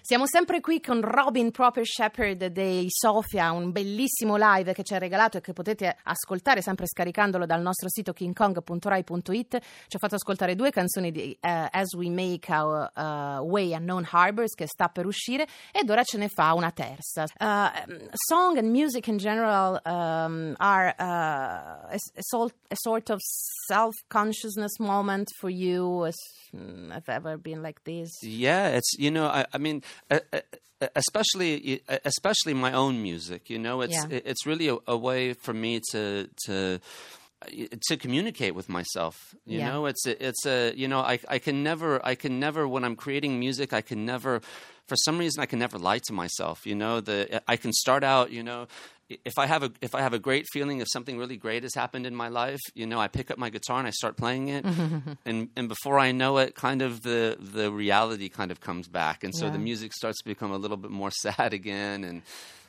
Siamo sempre qui con Robin Proper Shepherd dei Sofia, un bellissimo live che ci ha regalato e che potete ascoltare sempre scaricandolo dal nostro sito kingkong.rai.it. Ci ha fatto ascoltare 2 canzoni di As We Make Our Way Unknown Harbors, che sta per uscire, ed ora ce ne fa una terza. Song and music in general are a sort of self-consciousness moment for you. Have ever been like this? Yeah, it's, I mean, especially my own music, it's really a way for me to communicate with myself. You know, I can never when I'm creating music, for some reason I can never lie to myself. I can start out, if I have a great feeling, if something really great has happened in my life, I pick up my guitar and I start playing it, and before I know it, kind of the reality kind of comes back, and so the music starts to become a little bit more sad again, and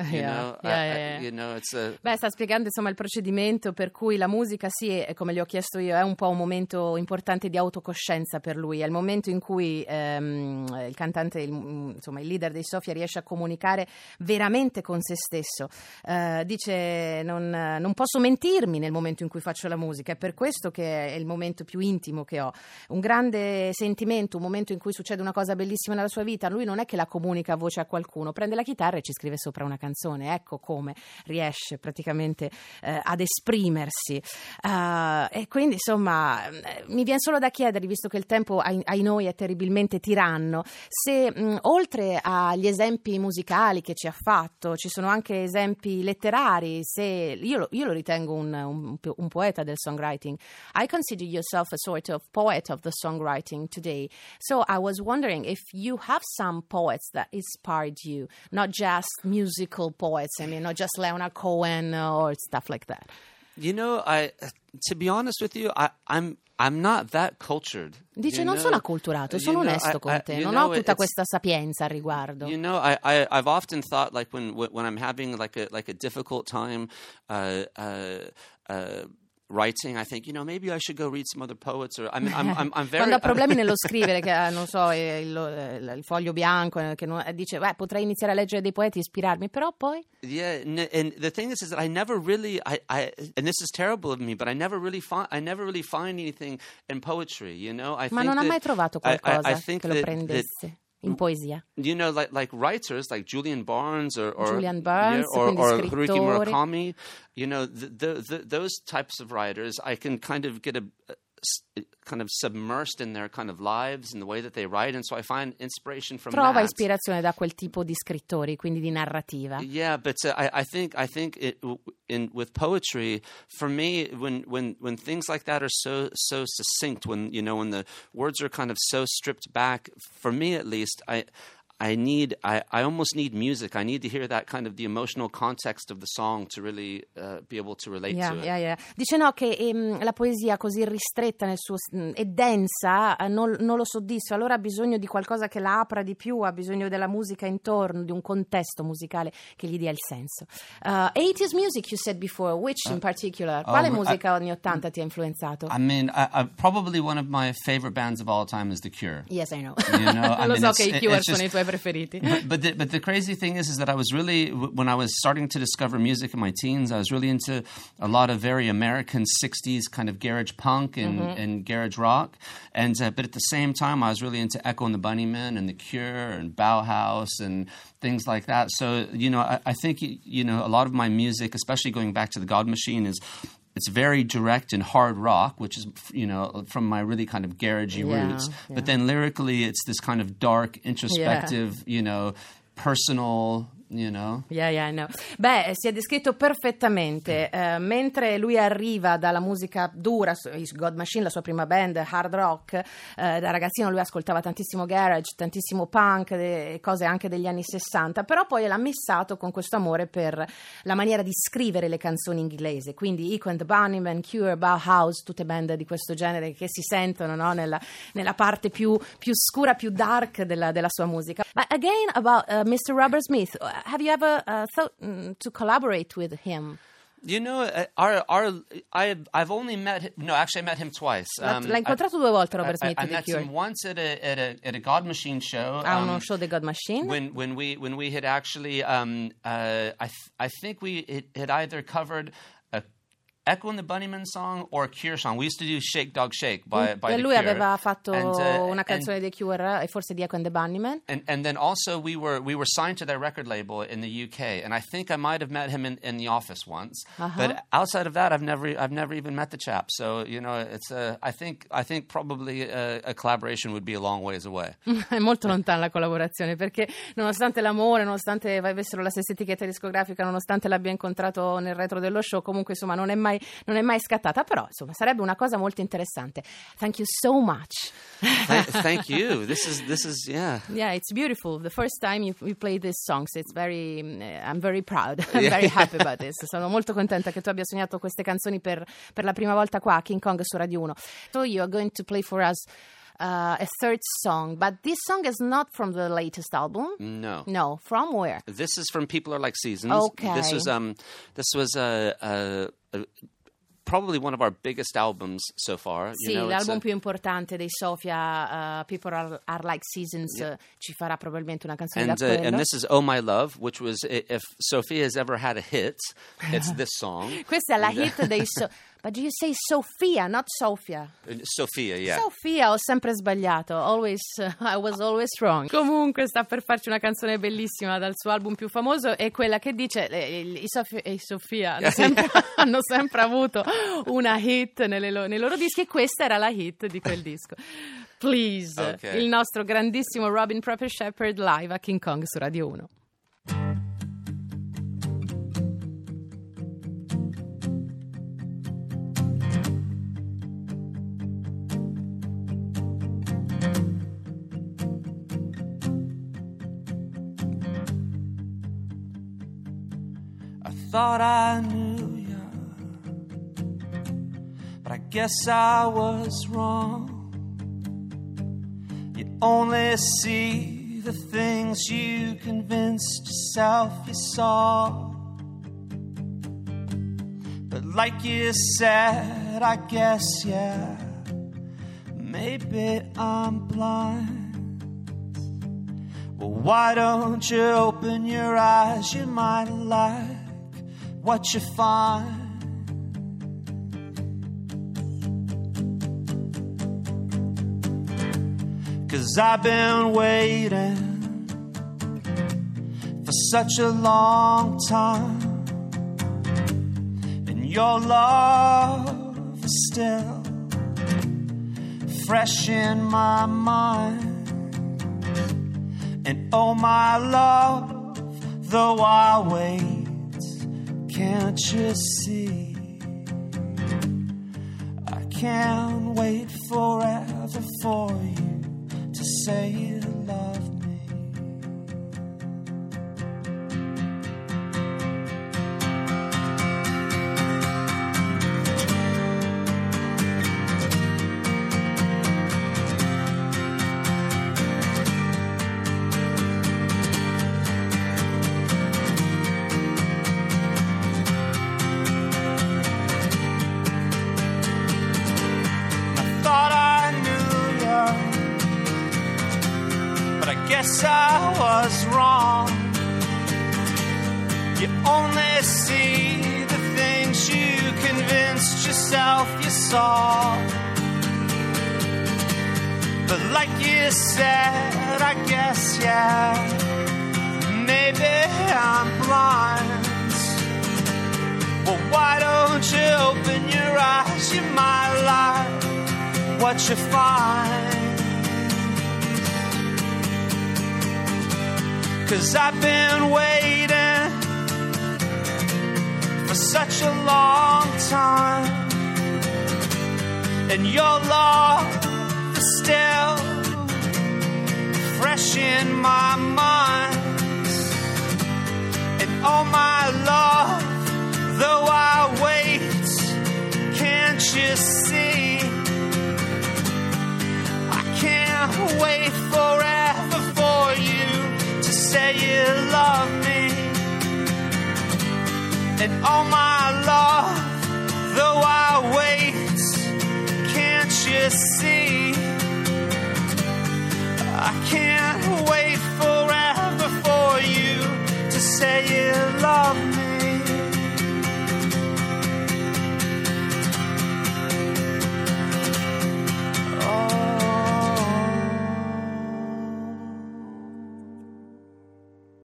it's a... Beh, sta spiegando insomma il procedimento per cui la musica, sì, come gli ho chiesto io, è un po' un momento importante di autocoscienza per lui, è il momento in cui il cantante, il leader dei Sofia riesce a comunicare veramente con se stesso. Dice non posso mentirmi nel momento in cui faccio la musica, è per questo che è il momento più intimo che ho, un grande sentimento, un momento in cui succede una cosa bellissima nella sua vita. Lui non è che la comunica a voce a qualcuno, prende la chitarra e ci scrive sopra una canzone, ecco come riesce praticamente ad esprimersi, e quindi insomma mi viene solo da chiedergli, visto che il tempo ai noi è terribilmente tiranno, se oltre agli esempi musicali che ci ha fatto ci sono anche esempi letterari. Se io lo ritengo un poeta del songwriting. I consider yourself a sort of poet of the songwriting today. So I was wondering if you have some poets that inspired you, not just musical poets. I mean, not just Leonard Cohen or stuff like that. To be honest with you, I'm not that cultured. Dice, non sono acculturato, sono onesto con te, non ho tutta questa sapienza al riguardo. I've often thought, like when I'm having like a difficult time writing, I think, maybe I should go read some other poets, or I'm very... Quando ha problemi nello scrivere, che non so, il foglio bianco, che dice, potrei iniziare a leggere dei poeti e ispirarmi, però poi... Yeah, and the thing is that I never really, and this is terrible of me, but I never really find anything in poetry, Ma non ha mai trovato qualcosa che lo prendesse in poesia. Like writers like Julian Barnes or Haruki Murakami, those types of writers, I can kind of get kind of submersed in their kind of lives and the way that they write, and so I find inspiration from Trova that. ispirazione da quel tipo di scrittori, quindi di narrativa. Yeah, but I think with poetry, for me, when things like that are so succinct, when the words are kind of so stripped back, for me at least, I almost need music. I need to hear that kind of the emotional context of the song to really be able to relate to it. Yeah. Dice che la poesia così ristretta nel suo e densa non lo soddisfa, allora ha bisogno di qualcosa che la apra di più, ha bisogno della musica intorno, di un contesto musicale che gli dia il senso. 80s music, you said before, which in particular? Quale musica anni 80 ti ha influenzato? I mean, probably one of my favorite bands of all time is The Cure. Yes, I know. Lo so che i Cure sono i tuoi preferiti. But the crazy thing is that I was really, when I was starting to discover music in my teens, I was really into a lot of very American 60s kind of garage punk and garage rock, and but at the same time I was really into Echo and the Bunnymen and The Cure and Bauhaus and things like that. So I think a lot of my music, especially going back to the God Machine, it's very direct and hard rock, which is, from my really kind of garagey roots. Yeah. But then lyrically, it's this kind of dark, introspective, personal... Yeah, I know. Beh, si è descritto perfettamente. Mentre lui arriva dalla musica dura, God Machine, la sua prima band, hard rock, da ragazzino lui ascoltava tantissimo garage, tantissimo punk, cose anche degli anni 60, però poi l'ha missato con questo amore per la maniera di scrivere le canzoni inglese, quindi Echo and the Bunnymen, Cure, Bauhaus, tutte band di questo genere che si sentono, no? nella parte più scura, più dark della sua musica. But again, about Mr. Robert Smith, have you ever thought to collaborate with him? You know, I've only met him. No, actually, I met him twice. L'ha incontrato 2 volte Robert Smith. I met him once at a God Machine show. Uno show di God Machine. When we had actually, I think we had either covered Echo and the Bunnymen song or a Cure song. We used to do Shake Dog Shake by The Lui Cure. aveva fatto una canzone dei Cure e forse di Echo and the Bunnymen. And then also we were signed to their record label in the UK, and I think I might have met him in the office once. But outside of that, I've never even met the chap. So you know, it's I think probably a collaboration would be a long ways away. È molto lontana la collaborazione, perché nonostante l'amore, nonostante avessero la stessa etichetta discografica, nonostante l'abbia incontrato nel retro dello show, comunque insomma non è mai scattata, però insomma sarebbe una cosa molto interessante. Thank you so much. Thank you. This is yeah. Yeah, it's beautiful. The first time you play these songs, it's very I'm very proud. I'm very happy about this. Sono molto contenta che tu abbia sognato queste canzoni per la prima volta qua a King Kong su Radio 1. So you are going to play for us a third song, but this song is not from the latest album. No. From where? This is from People Are Like Seasons. Okay. This was probably one of our biggest albums so far. Sì, l'album più importante dei Sofia, People Are Like Seasons, ci farà probabilmente una canzone da quello. And this is Oh My Love, which was, if Sophia has ever had a hit, it's this song. Questa è la hit dei But do you say Sophia, not Sofia? Sophia, yeah. Sofia, ho sempre sbagliato. I was always wrong. Comunque sta per farci una canzone bellissima dal suo album più famoso, è quella che dice i Sofia hanno sempre avuto una hit nei loro dischi, e questa era la hit di quel disco. Please, okay. Il nostro grandissimo Robin Proper Shepherd live a King Kong su Radio 1. Thought I knew ya, but I guess I was wrong. You only see the things you convinced yourself you saw. But like you said, I guess, yeah, maybe I'm blind. Well, why don't you open your eyes? You might like what you find. Cause I've been waiting for such a long time, and your love is still fresh in my mind. And oh my love, though I wait, can't you see? I can't wait forever for you to say you love me. Guess I was wrong. You only see the things you convinced yourself you saw. But like you said, I guess, yeah, maybe I'm blind. Well, why don't you open your eyes? You might like what you find. 'Cause I've been waiting for such a long time, and your love is still fresh in my mind. And oh my love, though I wait, can't you see? I can't wait forever for you to say you love me. And oh my love, though I wait, can't you see? I can't